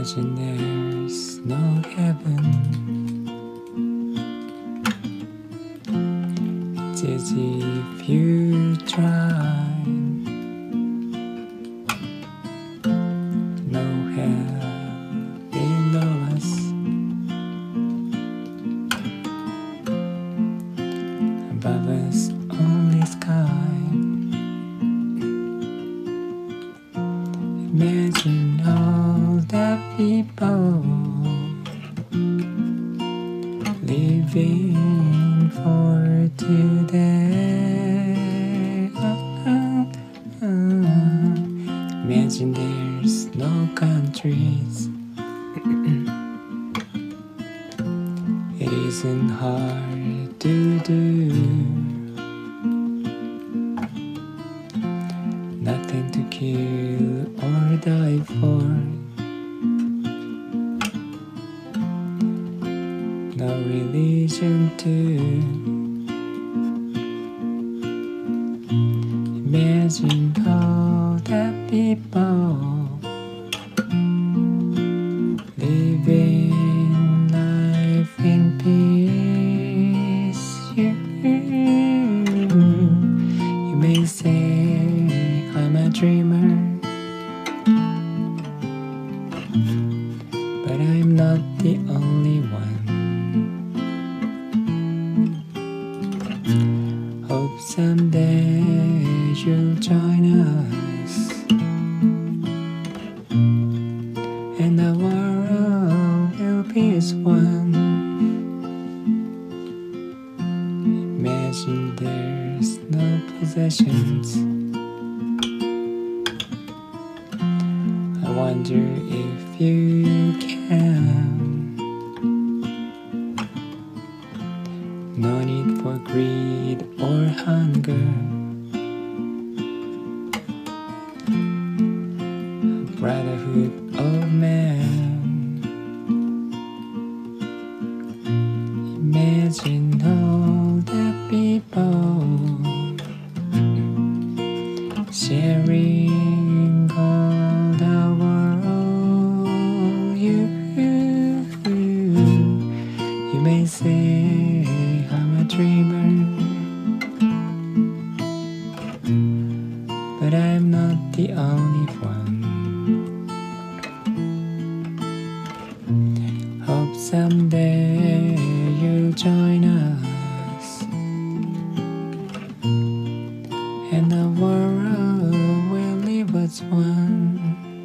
Imagine there's no heaven. It's easy if you try. No hell below us. Above us only sky. Imagine all the people living for today. Imagine there's no countries. It isn't hard to do. Nothing to kill or die for. No religion too. Imagine all the people living life in peace. You may say I'm a dreamer, but I'm not the only one. Hope someday you'll join us, and the world will be as one. Imagine there's no possessions. I wonder if you can. No need for greed or hunger. A brotherhood of man. Imagine all the people sharing all the world. You may say I'm a dreamer, but I'm not the only one. Hope someday you'll join us, and the world will live as one.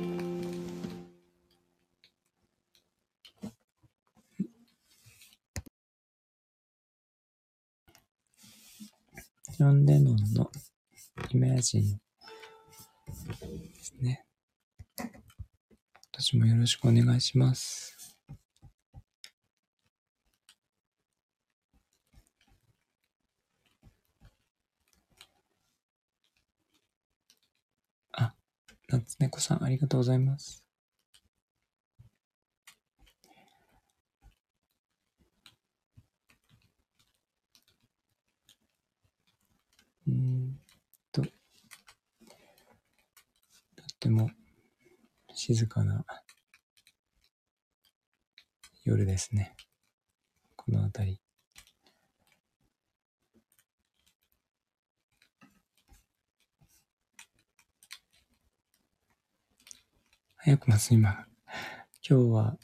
ジョン・レノンのイメージですね。私もよろしくお願いします。あ、夏猫さんありがとうございます。とっても静かな夜ですね。この辺り。早くます今日は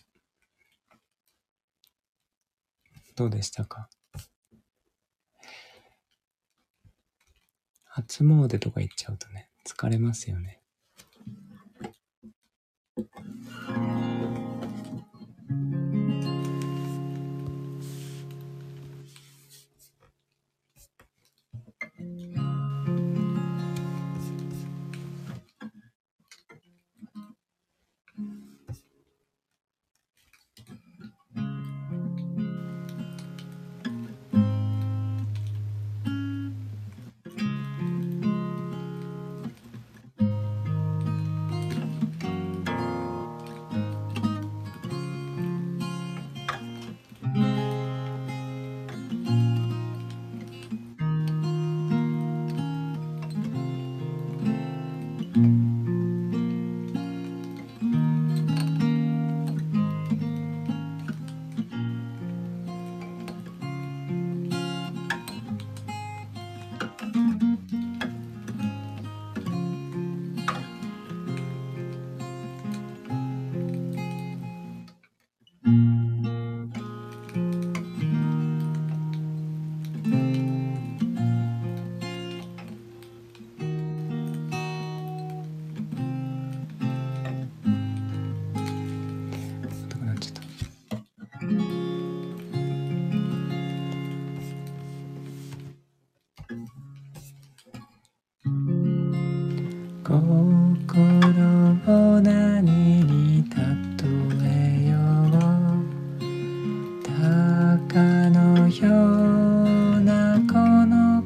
どうでしたか？初詣とか行っちゃうとね、疲れますよね。 を何に例えよう。鷹のようなこの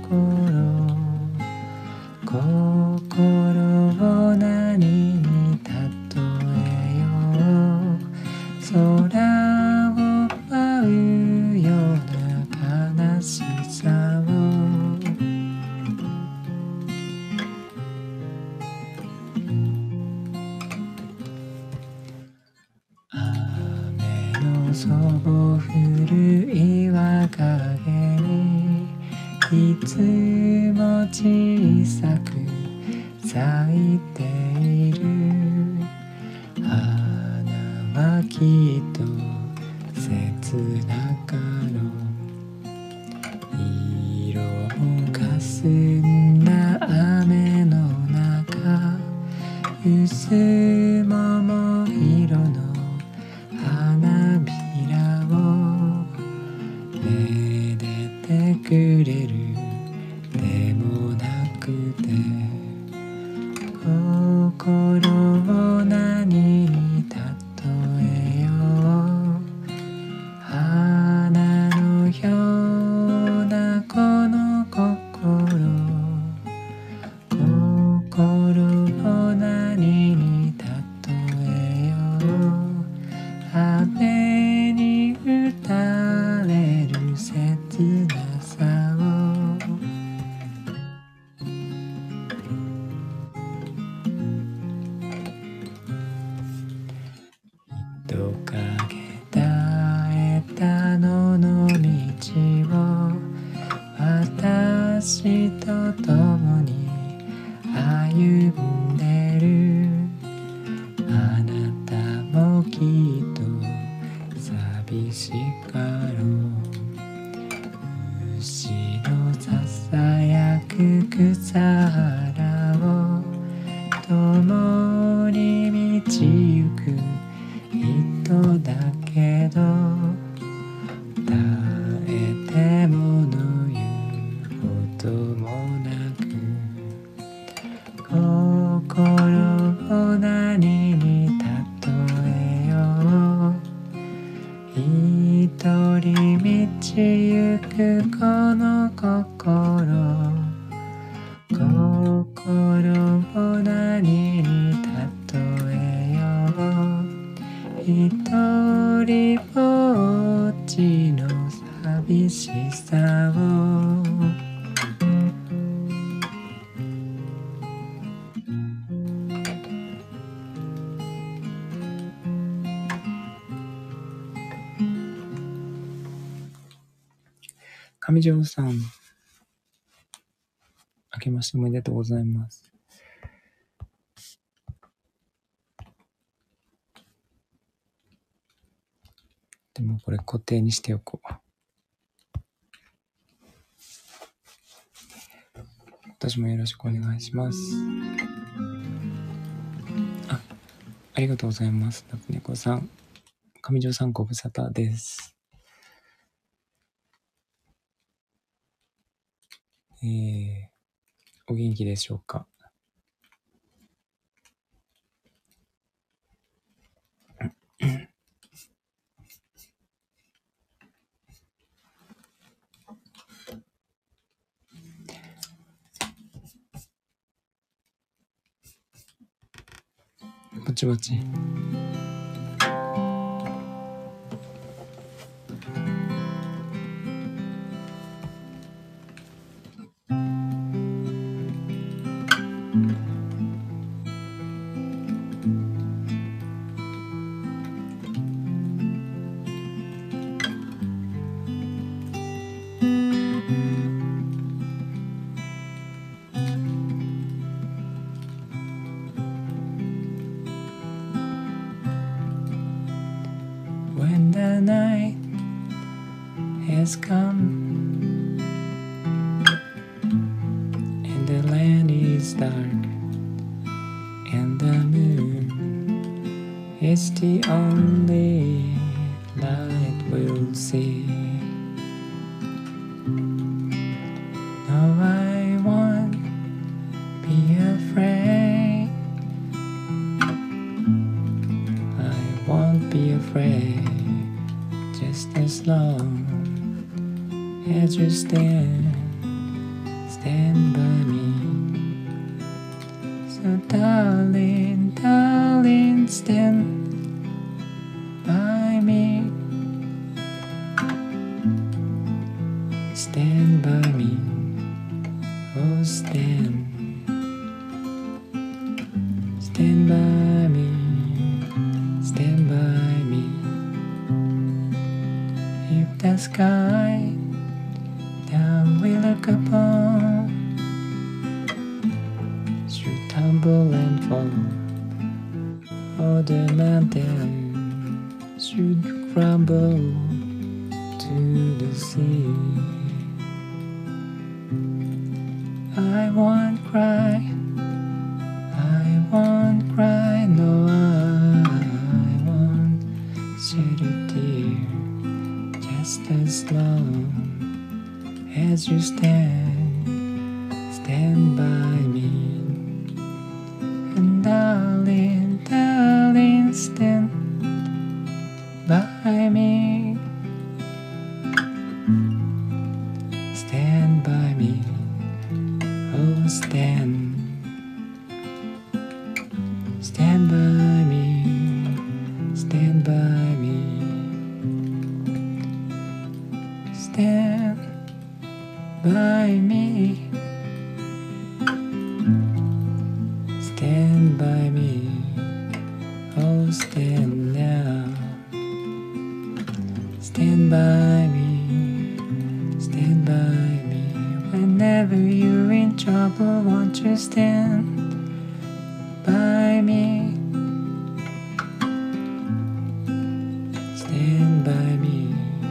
心を何に例えよう。空を舞うような悲しさを。そぼ降る岩陰にいつも小さく咲いている花はきっと切なかろう。色をかすんだ雨の中、薄桃色の花びらをめでてくれるでもなくて、心を何に例えよう。花のようなこの心を何に例えよう。雨に打たれる切なさを。人影絶えた野の道を私と共に歩んでる。あなたもきっと寂しかろう。牛のささやく草原を共に道行く人だけど、耐えてもの言うこともなく、心を何に例えよう。一人道行くこの心を何に例えよう。一人ぼっちの寂しさを。上条さん、明けましておめでとうございます。でもこれ固定にしておこう。私もよろしくお願いします。ありがとうございます。夏猫さん、上条さんご無沙汰です。お元気でしょうか。ぼちぼち。When the night has come and the land is dark and the moon is the only light we'll see. No, I won't be afraid. as you stand by me. So darling, darling, stand by me. Stand by me. Oh, stand by me. Stand by me. If the sky that we look upon should tumble and fall, or the mountain should crumble to the sea, I won't cry, no, I won't shed a tear, just as long as you stand by me. And darling, darling, stand by me. Stand by me. Oh, stand by me. Stand by me. Stand by me. Stand by me. Oh, stand now. Stand by me. Stand by me. Whenever you're in trouble, won't you stand by me? Stand by me.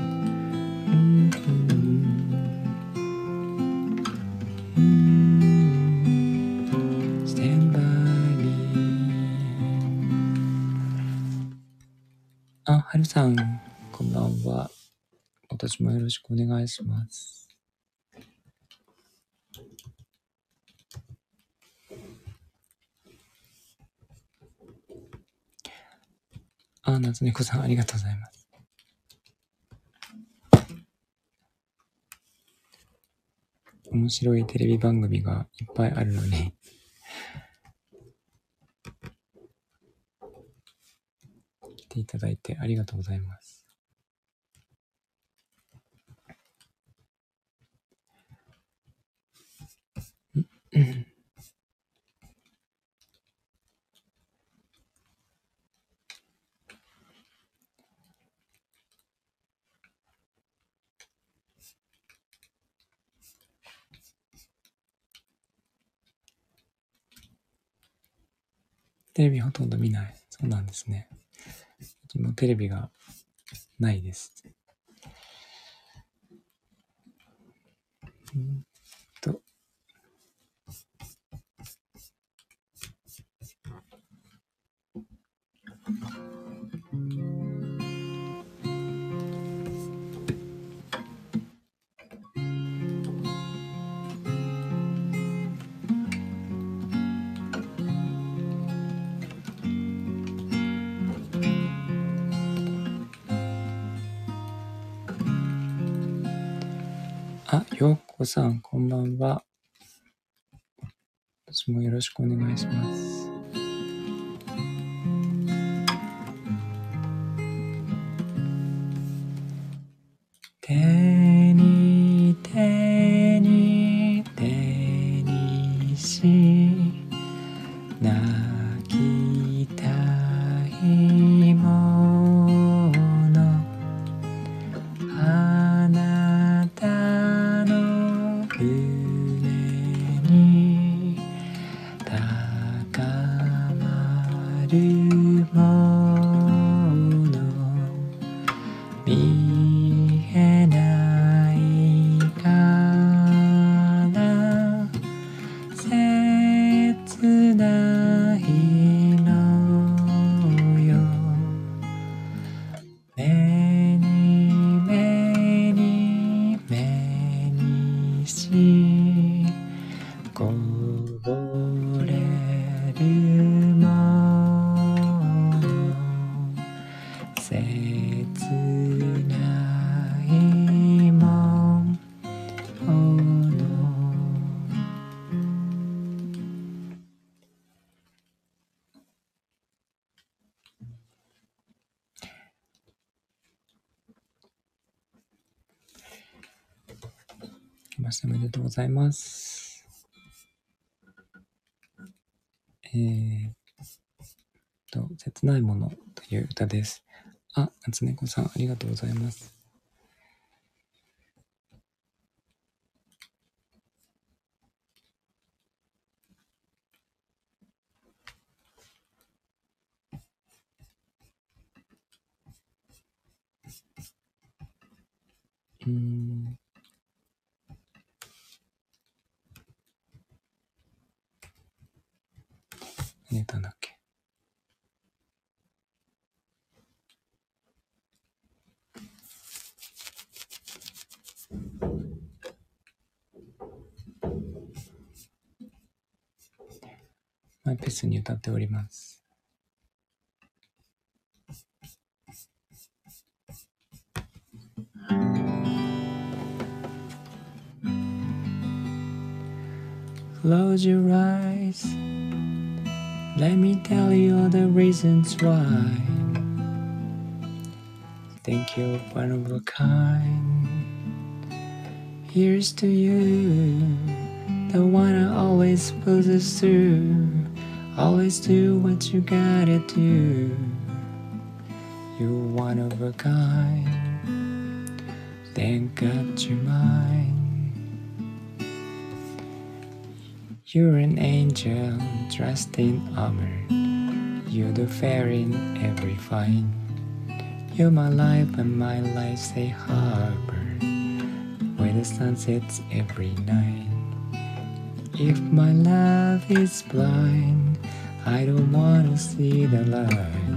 Stand by me. あ、はるさん、こんばんは。今年もよろしくお願いします。あ、夏猫さん、ありがとうございます。面白いテレビ番組がいっぱいあるのに来ていただいてありがとうございます。テレビほとんど見ない。そうなんですね。うちもテレビがないです。あ、ようこさん、こんばんは。私もよろしくお願いします。手にし泣きたいもの、あなたの胸に高まるもの、見えないから切ないのよ。目にしこぼれるもの、切ないもんましておめでとうございます。切ないものという歌です。あ、夏猫さん、ありがとうございます。何歌うんだっけ。マイペースに歌っております。Close your eyes. Let me tell you all the reasons why. Think you're one of a kind. Here's to you, the one I always pulls through. Always do what you gotta do. You're one of a kind. Thank God you're mine. You're an angel dressed in armor. You're the fair in every fine. You're my life and my life's a harbor where the sun sets every night. If my love is blind, I don't want to see the light.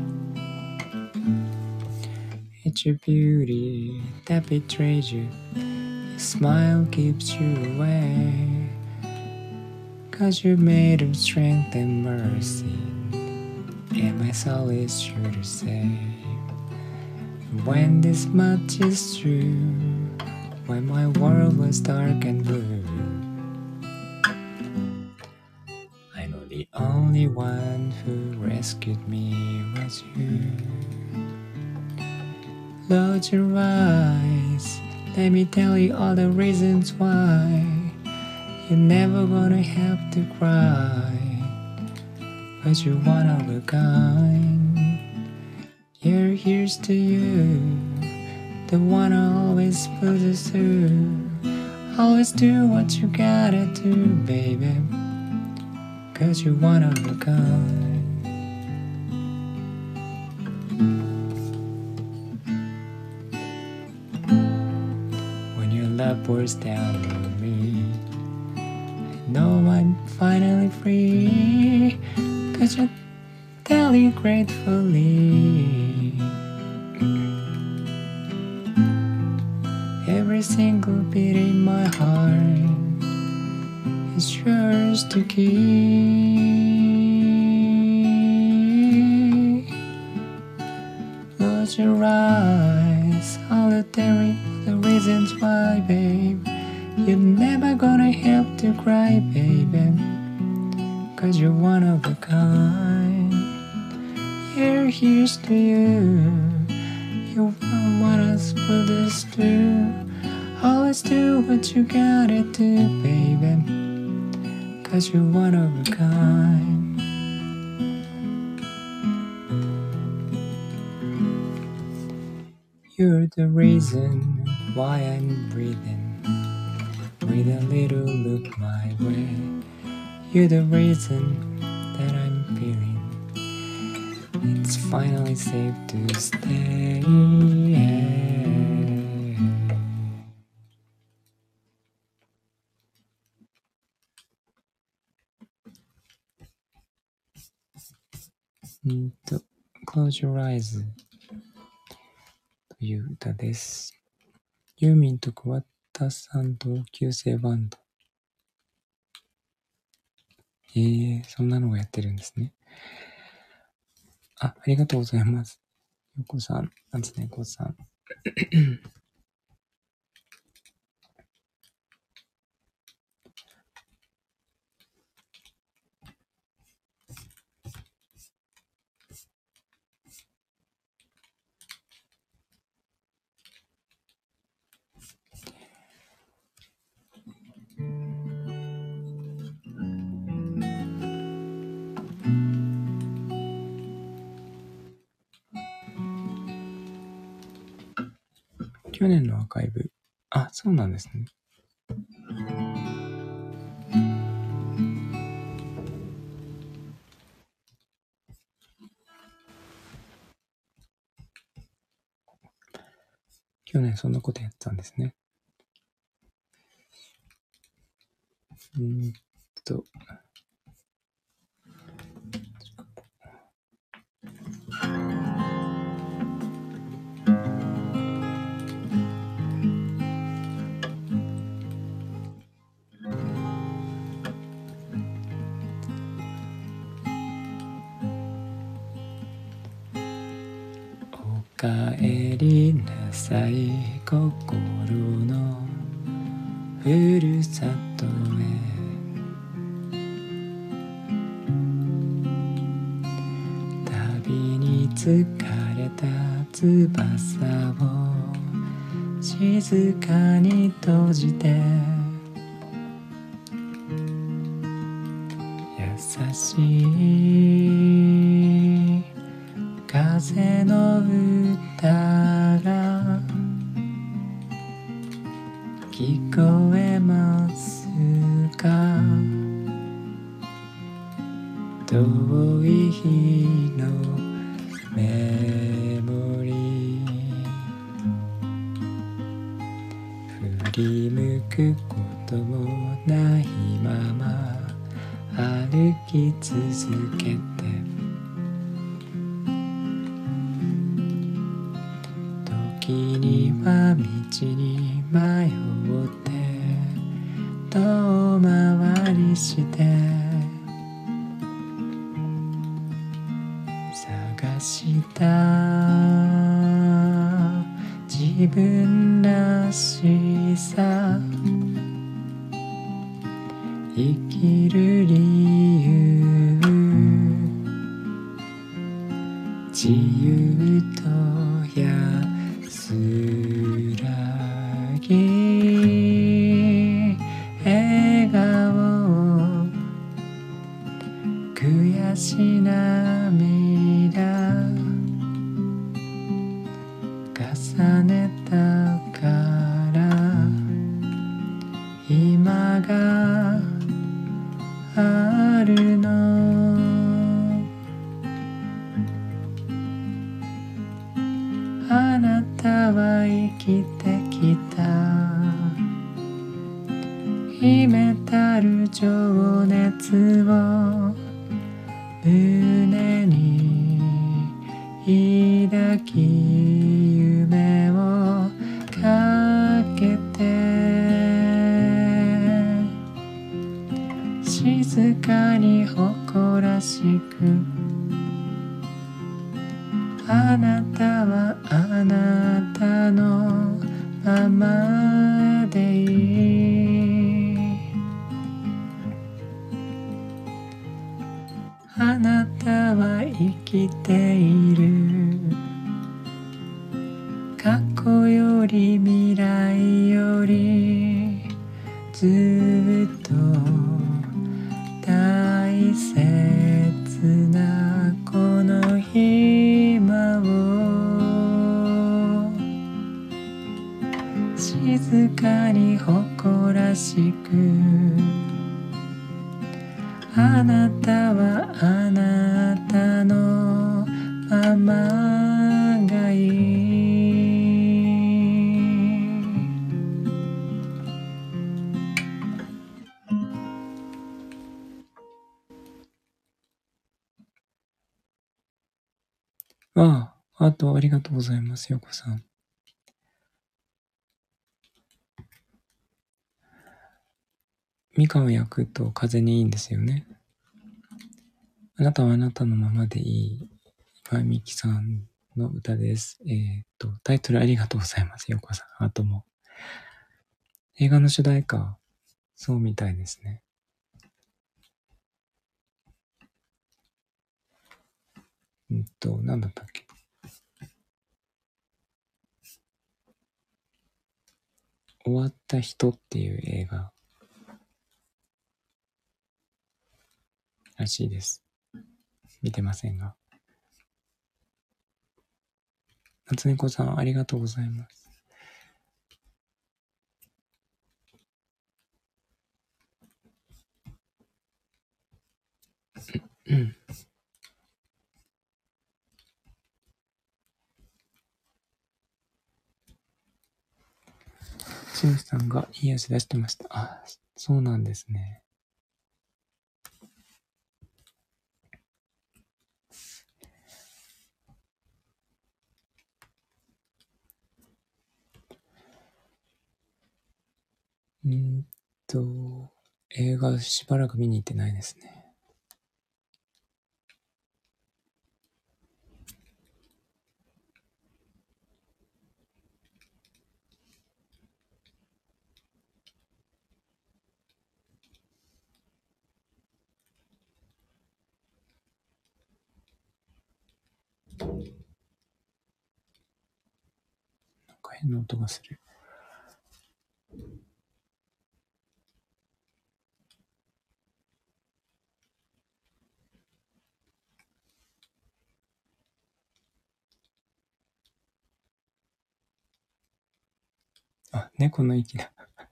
It's your beauty that betrays you. Your smile keeps you away. 'Cause you're made of strength and mercy, and my soul is sure to save. When this much is true, when my world was dark and blue, I know the only one who rescued me was you. Close your eyes, let me tell you all the reasons why. You're never gonna have to cry, 'cause you're one of a kind. Yeah, here's to you, the one I always put us through. Always do what you gotta do, baby, 'cause you're one of a kind. When your love pours down on me, I know I'm finally free, 'cause you're daily gratefully. Every single beat in my heart is yours to keep. Close your eyes, I'll tell you the reasons why, babe. You're never gonna have to cry, baby, 'cause you're one of a kind. Yeah, here's to you, you want us put this through. Always do what you gotta do, baby, 'cause you're one of a kind. You're the reason why I'm breathing, with a little look my way. You're the reason that I'm feeling it's finally safe to stay. Close your eyes という歌です。ユーミンと桑田さん同級生バンド。そんなのがやってるんですね。ありがとうございます。よこさん、夏猫さん。 去年のアーカイブ。あ、そうなんですね。去年そんなことやってたんですね。おかえりなさい心のふるさとへ、旅に疲れた翼を静かに閉じて、優しい風の歌が聞こえますか？遠い日のメモリー、振り向くこともないまま歩き続けて、時には道に迷って遠回りして探した自分らしさ、生きる理由、自由と安らぎ、笑顔、悔し涙重ねたから今があるの。あなたは生きてきた秘めたる情熱を胸に抱き夢をかけて静かに誇らしく、あなたはあなたのままでいい。あなたは生きている。過去より未来よりずっと大切なこの今を静かに誇らしく、あなたはあなたのままがいい。あとありがとうございます、よこさん。みかんを焼くと風にいいんですよね。あなたはあなたのままでいい。今みきさんの歌です。タイトルありがとうございます、よこさん。あとも。映画の主題歌、そうみたいですね。なんだったっけ。終わった人っていう映画らしいです。見てませんが。夏猫さんありがとうございます。 しゅんさんがいい足出してました。あ、そうなんですね。映画しばらく見に行ってないですね。なんか変な音がする。あ、猫の息だ。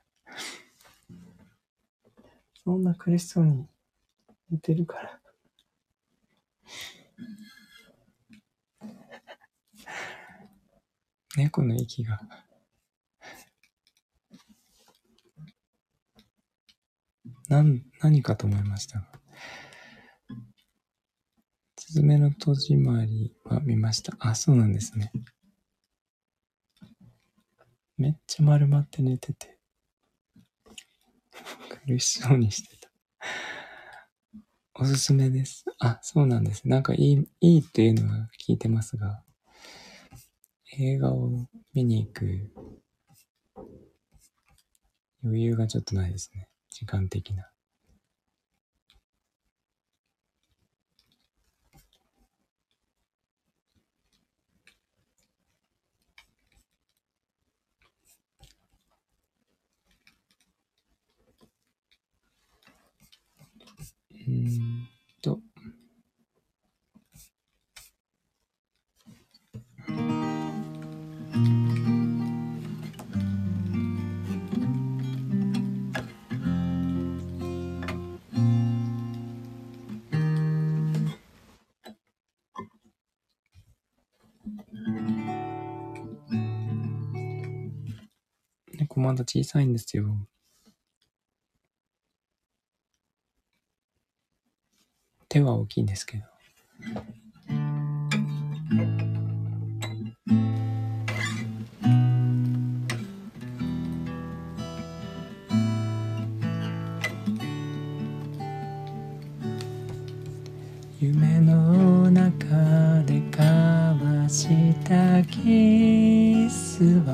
そんな苦しそうに寝てるから。猫の息が。何かと思いましたが。すずめの戸締まりは見ました。あ、そうなんですね。めっちゃ丸まって寝てて。苦しそうにしてた。おすすめです。あ、そうなんです。なんかいいっていうのは聞いてますが、映画を見に行く余裕がちょっとないですね。時間的な。と。猫まだ小さいんですよ。手は大きいんですけど。夢の中で交わしたキスは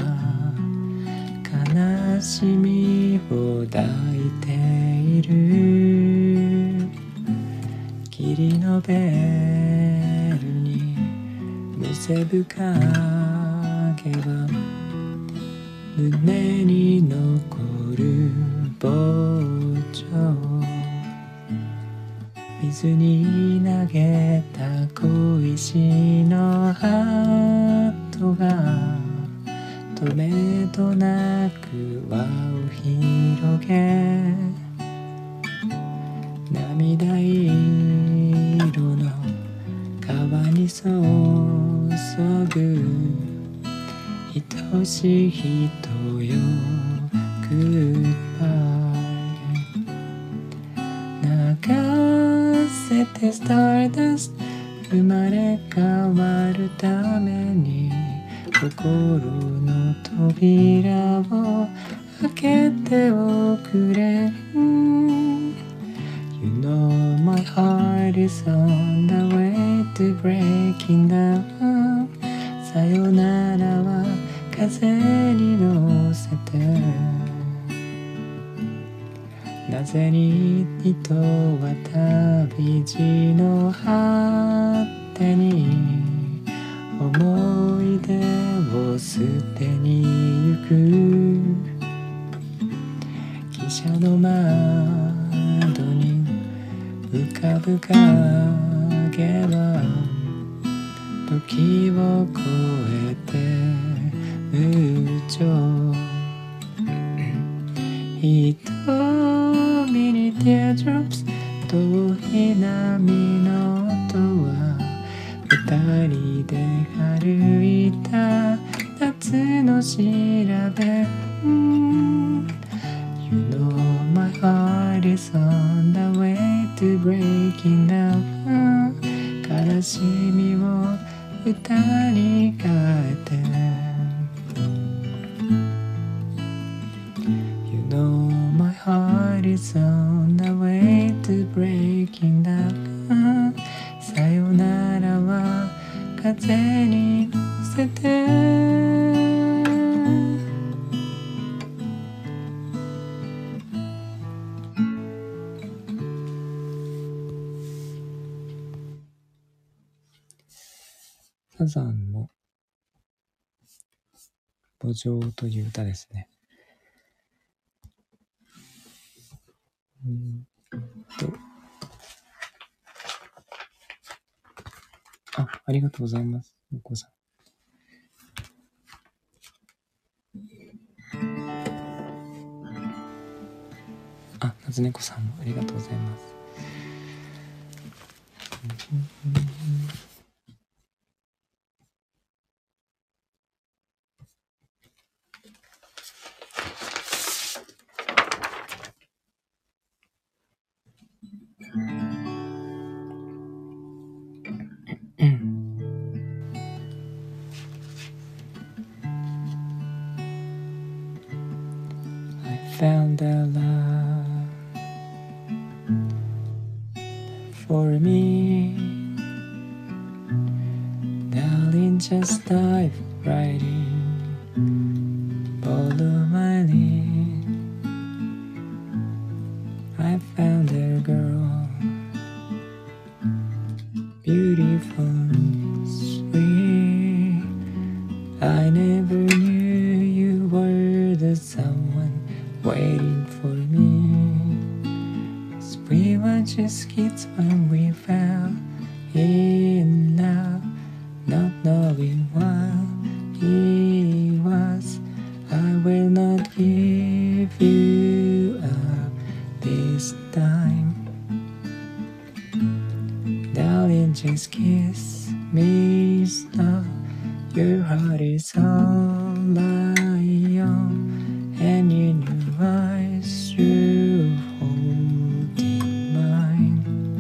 悲しみを抱いている。霧のベールにむせぶかけば胸に残る膨張。水に投げた小石の跡がとめどなく輪を広げ、涙色の川に注ぐ愛しい人よ Goodbye。 流せて Stardust 生まれ変わるために心の扉を開けておくれ。You know my heart is on the way to breaking down。 さよならは風に乗せて、なぜに人は旅路の果てに思い出を捨てに行く。汽車の窓に浮かぶ影は時を超えて無情。瞳に teardrops 溶遠い波の音は二人で歩いた夏の調べ、You know my heart is on the way to breaking down 悲しみを歌に変えて You know my heart is on the way to breaking down さよならは風に乗せてサザンの墓場という歌ですね。ありがとうございます。お子さん。夏猫さんもありがとうございます。I found a love for me Darling, just dive right in Follow my lead I found a girl Beautiful, sweet I never knew you were the someone waiting for me We were just kids when we fell in love Not knowing what he was I will not give you up this time Darling, just kiss me slow Your heart is all I own And in your eyes you hold mine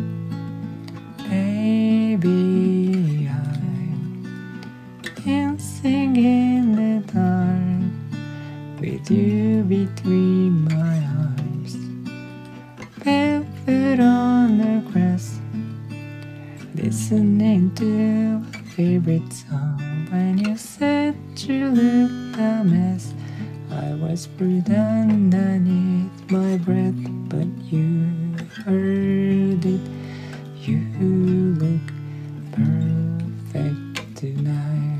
Baby, I'm dancing in the dark With you between my arms Barefoot on the grass Listening to a favorite song When you said you looked a mess I whispered underneath my breath But you heard it You look perfect tonight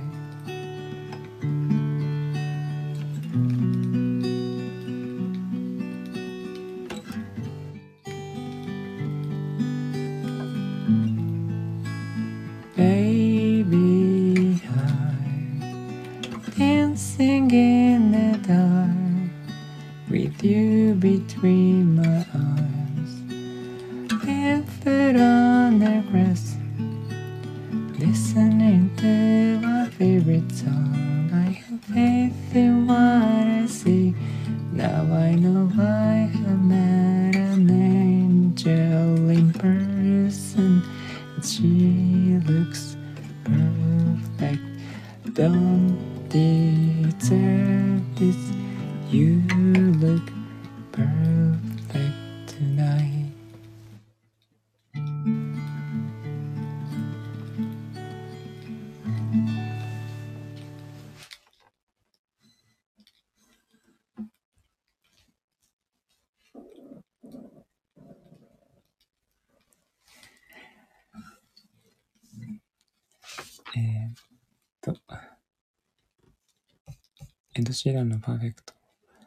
Baby, I'm dancing in the dark With you between my arms Barefoot on the grass Listening to my favorite song I have faith in what I see Now I know I have met an angel in person And she looks perfect Don't deserve this You look perfect tonightエド・シーランのパーフェクト。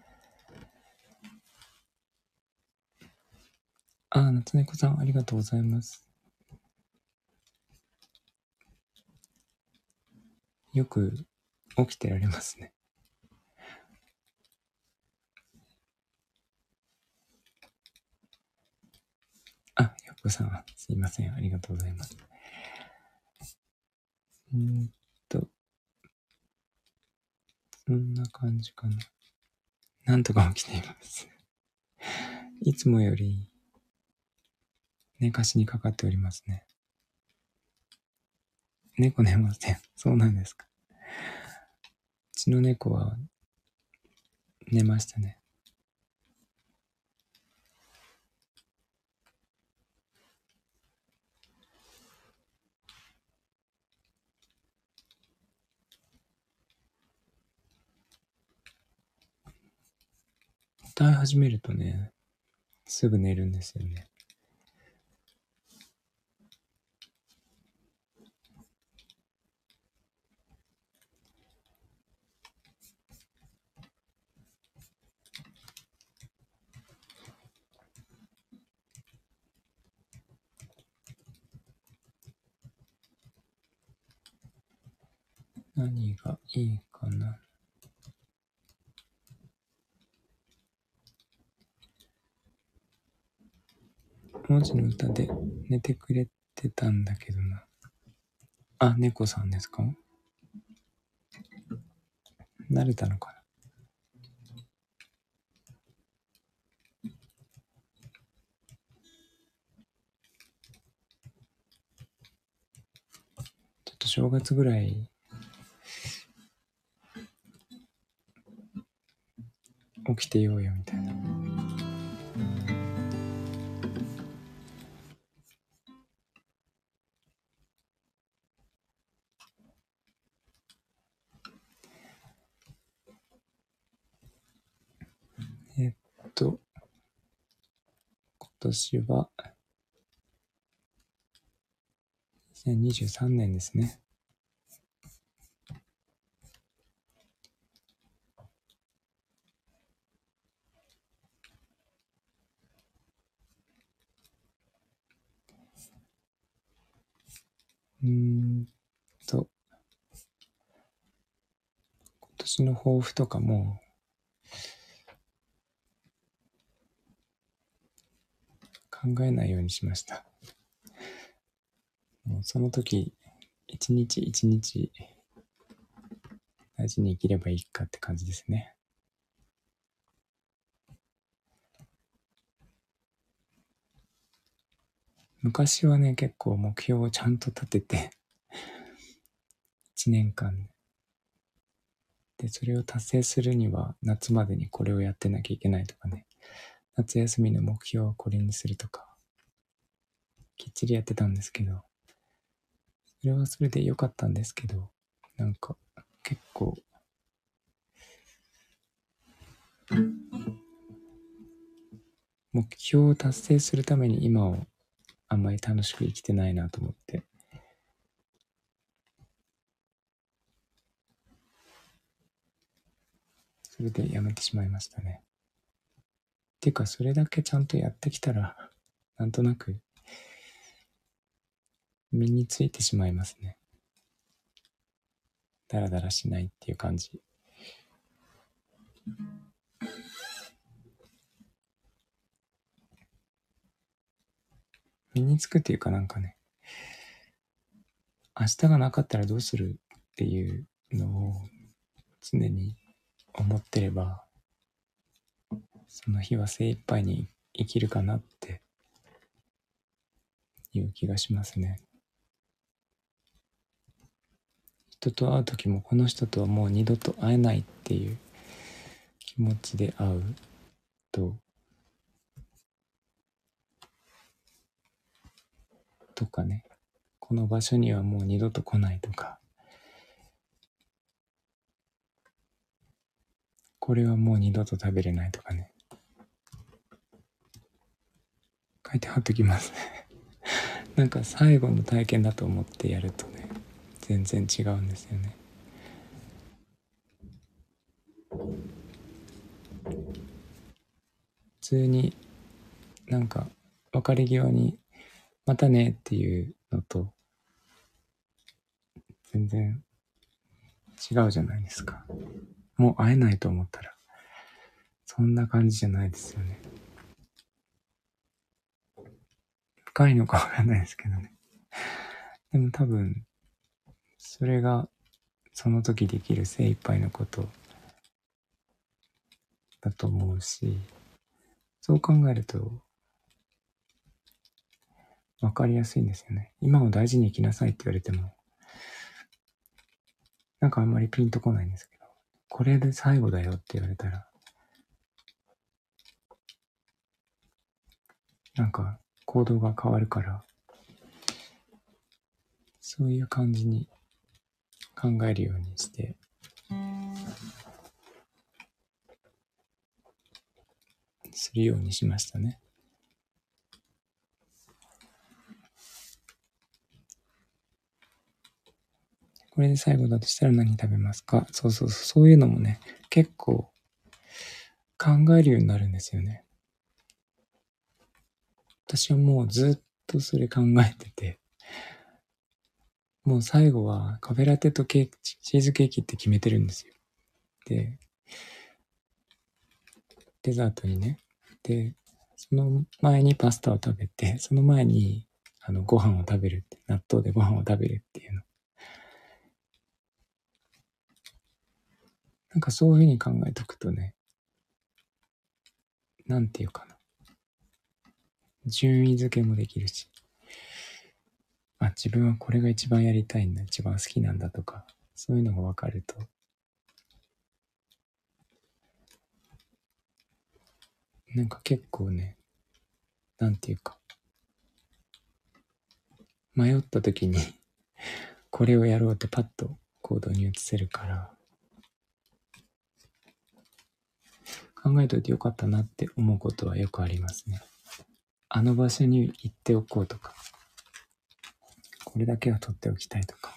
夏猫さん、ありがとうございます。よく起きてられますね。 こさん、すいません。ありがとうございます。そんな感じかな。なんとか起きています。いつもより寝かしにかかっておりますね。猫寝ません。そうなんですか。うちの猫は寝ましたね。歌い始めるとね、すぐ寝るんですよね。何がいいかな。文字の歌で寝てくれてたんだけどな。あ、猫さんですか？慣れたのかな。ちょっと正月ぐらい起きてようよみたいな。今年は2023年ですね。今年の抱負とかも考えないようにしました。もうその時、一日一日大事に生きればいいかって感じですね。昔はね、結構目標をちゃんと立てて、1年間で、それを達成するには夏までにこれをやってなきゃいけないとかね、夏休みの目標はこれにするとか、きっちりやってたんですけど、それはそれで良かったんですけど、なんか結構目標を達成するために今をあんまり楽しく生きてないなと思って、それでやめてしまいましたね。っていうか、それだけちゃんとやってきたら、なんとなく身についてしまいますね。だらだらしないっていう感じ。身につくっていうかなんかね、明日がなかったらどうするっていうのを常に思ってれば、その日は精一杯に生きるかなっていう気がしますね。人と会う時もこの人とはもう二度と会えないっていう気持ちで会うとかね、この場所にはもう二度と来ないとか、これはもう二度と食べれないとかね、書いて貼っときますね。なんか最後の体験だと思ってやるとね、全然違うんですよね。普通になんか別れ際にまたねっていうのと全然違うじゃないですか。もう会えないと思ったらそんな感じじゃないですよね。 近いのかわかんないですけどね。でも多分、それがその時できる精一杯のことだと思うし、そう考えると分かりやすいんですよね。今を大事に生きなさいって言われても、なんかあんまりピンとこないんですけど、これで最後だよって言われたら、なんか行動が変わるから、そういう感じに考えるようにしてするようにしましたね。これで最後だとしたら何食べますか？そういうのもね、結構考えるようになるんですよね。私はもうずっとそれ考えてて、もう最後はカフェラテとチーズケーキって決めてるんですよ。で、デザートにね。で、その前にパスタを食べて、その前にご飯を食べるって、納豆でご飯を食べるっていうの。なんかそういうふうに考えとくとね、なんていうかな。順位付けもできるし、自分はこれが一番やりたいんだ、一番好きなんだとか、そういうのが分かると、なんか結構ね、なんていうか、迷った時にこれをやろうってパッと行動に移せるから、考えといてよかったなって思うことはよくありますね。あの場所に行っておこうとか、これだけは取っておきたいとか。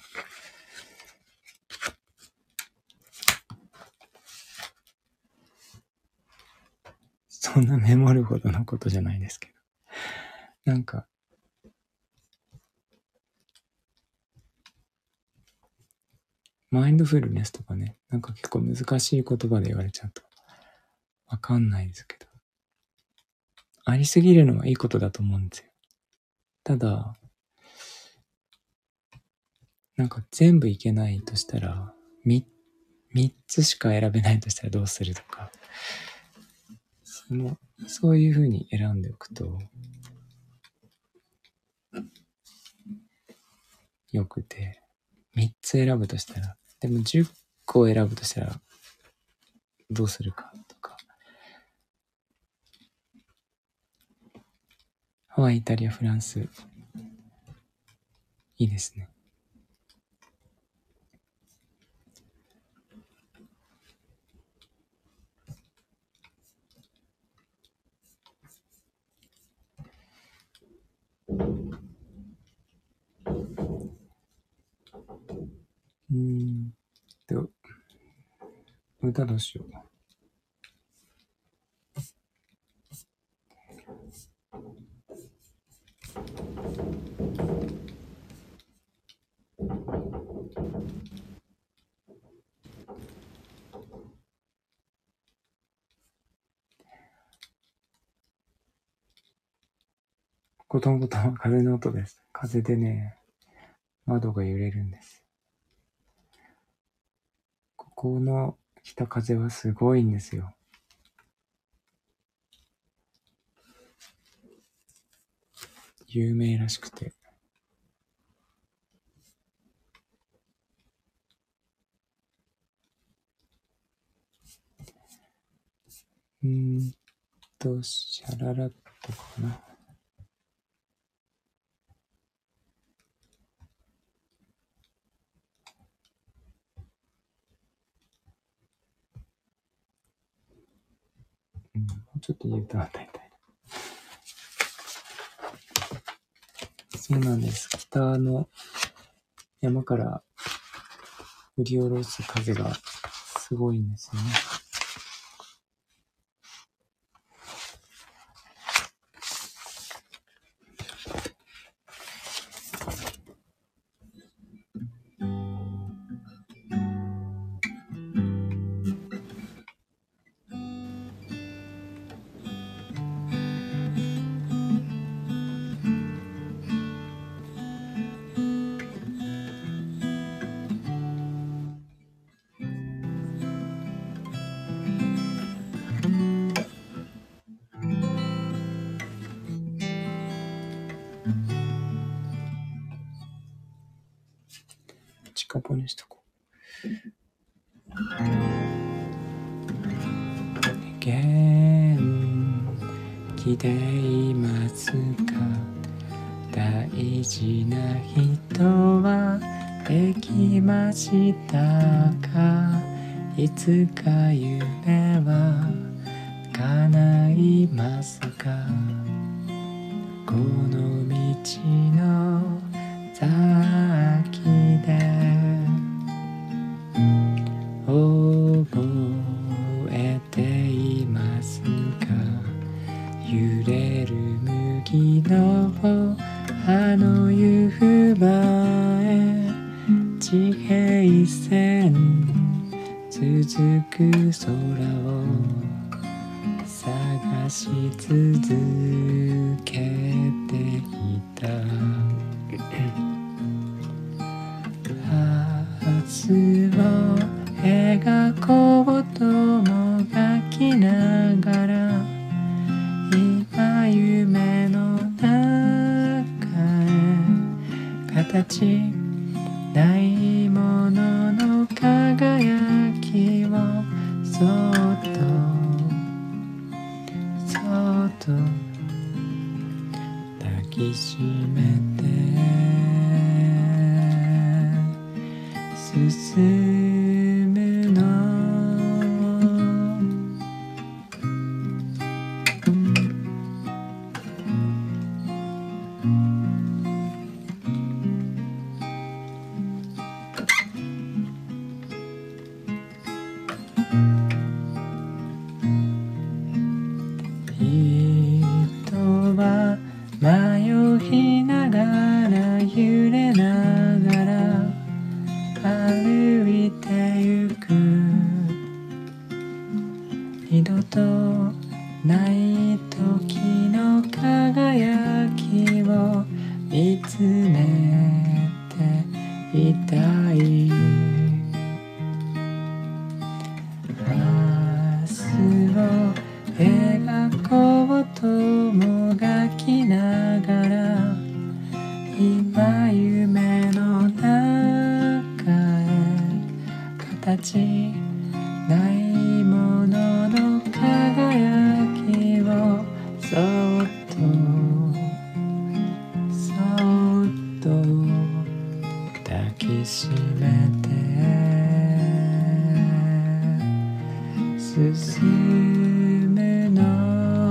そんなメモるほどのことじゃないですけど。なんか、マインドフルネスとかね、なんか結構難しい言葉で言われちゃうとわかんないですけど。ありすぎるのはいいことだと思うんですよ。ただ、なんか全部いけないとしたら、3つしか選べないとしたらどうするとか、そういう風に選んでおくとよくて、3つ選ぶとしたら、でも10個選ぶとしたらどうするかとか、ハワイ、イタリア、フランス、いいですね。歌どうしよう。コトンコトンは風の音です。風でね、窓が揺れるんです。ここの北風はすごいんですよ。有名らしくて。シャララットかな。もうちょっと言うと与えたい。そうなんです。北の山から降り下ろす風がすごいんですよね。 近場にしとこう。元気でいますか？大事な人はできましたか？いつか夢は叶いますか？この道の先で覚えていますか？揺れる麦のあの夕場へ地平線続く空を探し続けていた。明日を描こうともがきながら今夢の中へ形ないものの輝きをそっとそっと抱きしめて進むの。人は迷いながら揺れながら歩いてゆく。二度とない時の輝きを見つめていたい。明日を描こうともがきながら今夢の中へ形ないものの輝きをそっとそっと抱きしめて進むの。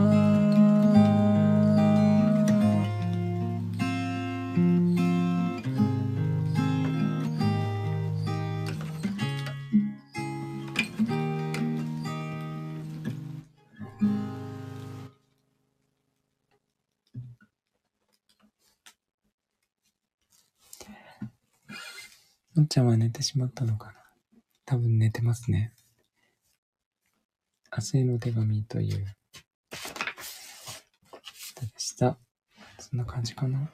のっちゃんは寝てしまったのかな。多分寝てますね。明日への手紙という歌でした。そんな感じかな。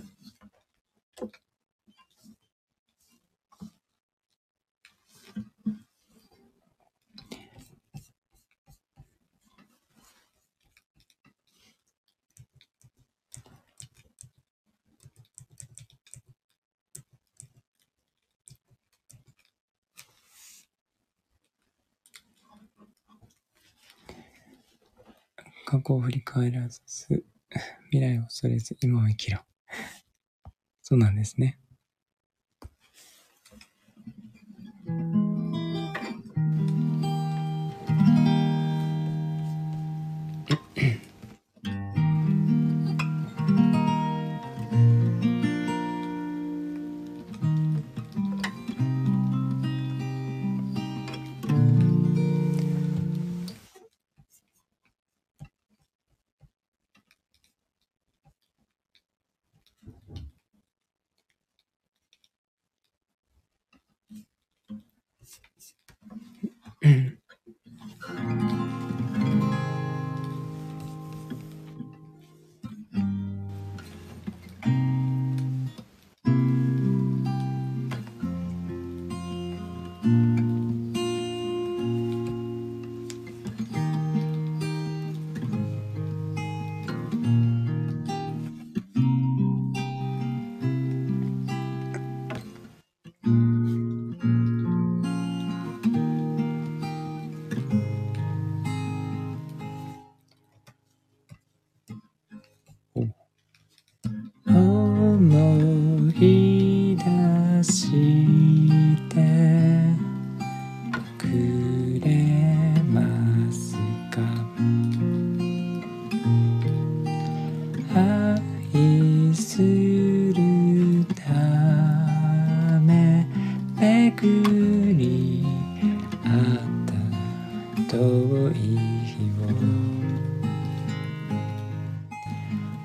過去を振り返らず未来を恐れず今を生きろ。そうなんですね。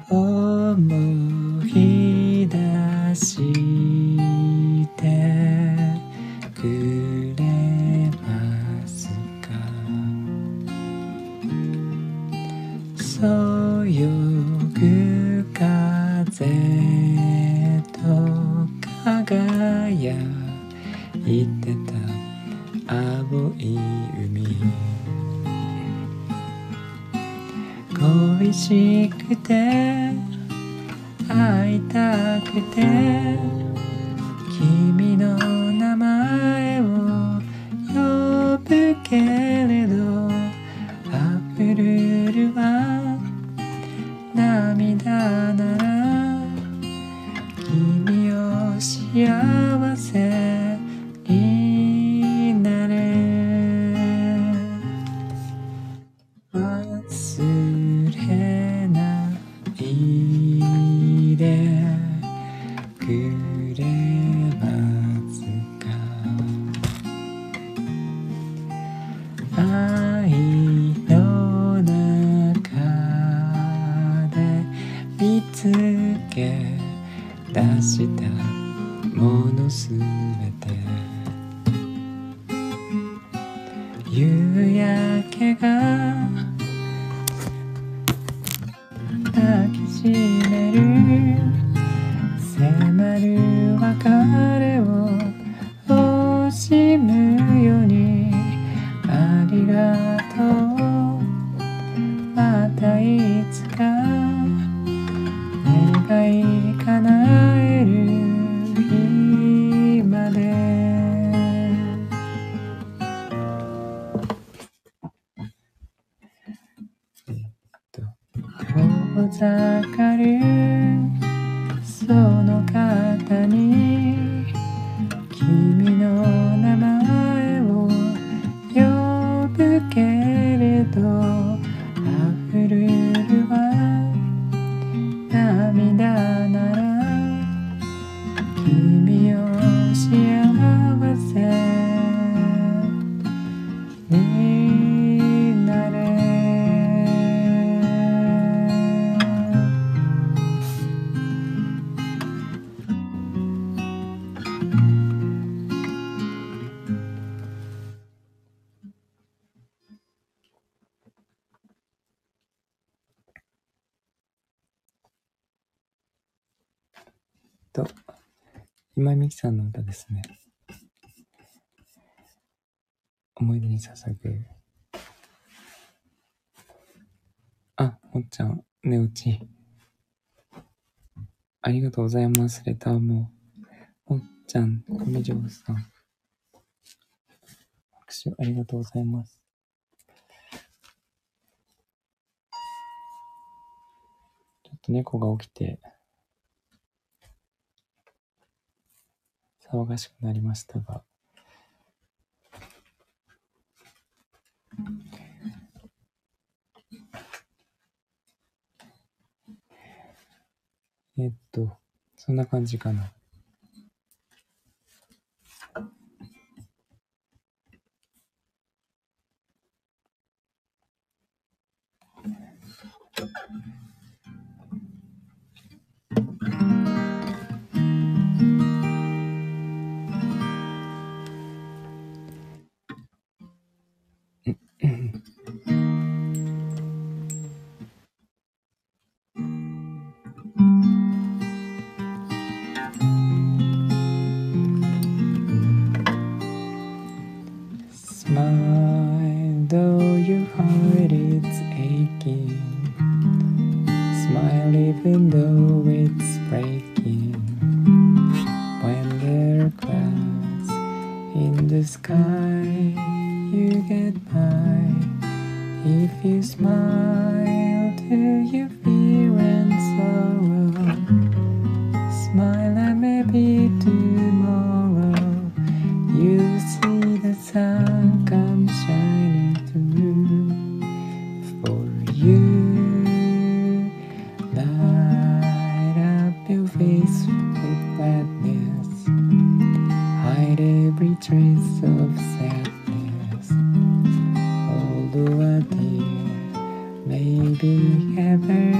思い出してくれますか。そよぐ風と輝いてた青い海、恋しくて会いたくて君の名前を呼ぶけれど、溢るるは涙なら君を幸せになれ。忘れないでくれますか。愛の中で見つけ出したものすべて、夕焼けが抱きしめる、迫る別れを惜しむように、ありがとう、またいつか願い叶える日まで。遠ざかるその方に君の名前を呼ぶけれど、溢るるは涙なら君を幸せになれ。今井美樹さんの歌ですね。思い出に捧ぐ。あ、もっちゃん、寝落ち。ありがとうございます。レターも。もっちゃん、上条さん。拍手ありがとうございます。ちょっと猫が起きて、騒がしくなりましたが、そんな感じかな。Smile though your heart is aching, smile even though it's breaking. When there are clouds in the sky, you get by. If you smile to your fear and sorrow, smile and maybe tomorrow you'll see the sun come shining through for you. Light up your face with gladness, hide every trace of sadness. Although a tear may be ever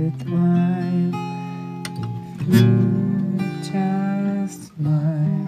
worthwhile if you just smile.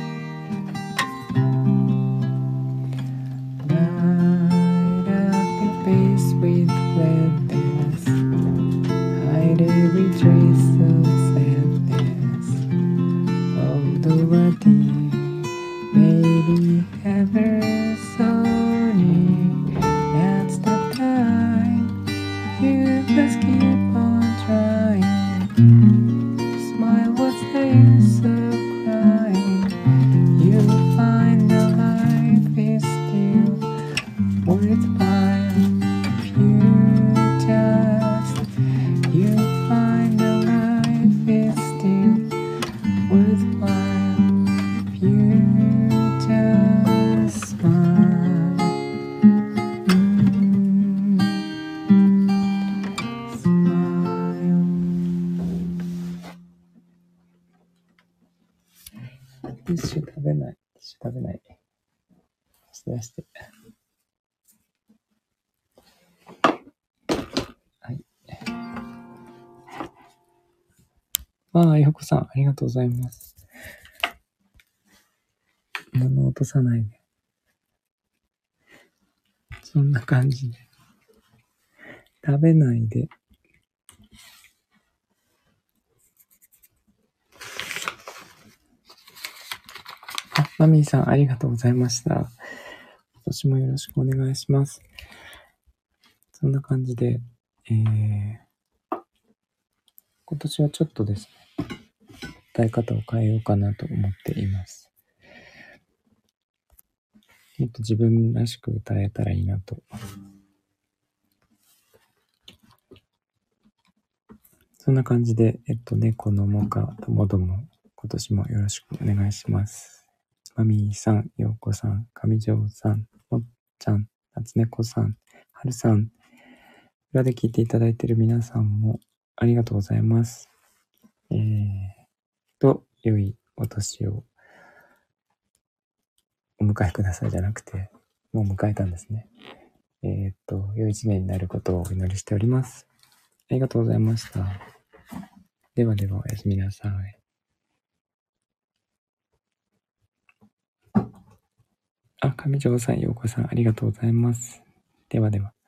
Light up your face with gladness, hide every trace of sadness. Although a day may be ever so near, that's the time you just keep on trying. Smile, what's the use of crying? You'll find that life is still worthwhile if you just. You'll find that life is still worthwhile if you just smile. Smile.ティッシュ食べない。ティッシュ食べない。出して。はい。よこさん、ありがとうございます。物落とさないで。そんな感じで。食べないで。マミーさん、ありがとうございました。今年もよろしくお願いします。そんな感じで、今年はちょっとですね、歌い方を変えようかなと思っています。もっと自分らしく歌えたらいいなと。そんな感じで、猫のもかともども、今年もよろしくお願いします。マミーさん、ようこさん、上条さん、もっちゃん、夏猫さん、はるさん、裏で聞いていただいている皆さんもありがとうございます。良いお年をお迎えくださいじゃなくて、もう迎えたんですね。良い一年になることをお祈りしております。ありがとうございました。ではではおやすみなさい。上条さん、ようこさん、ありがとうございます。ではでは。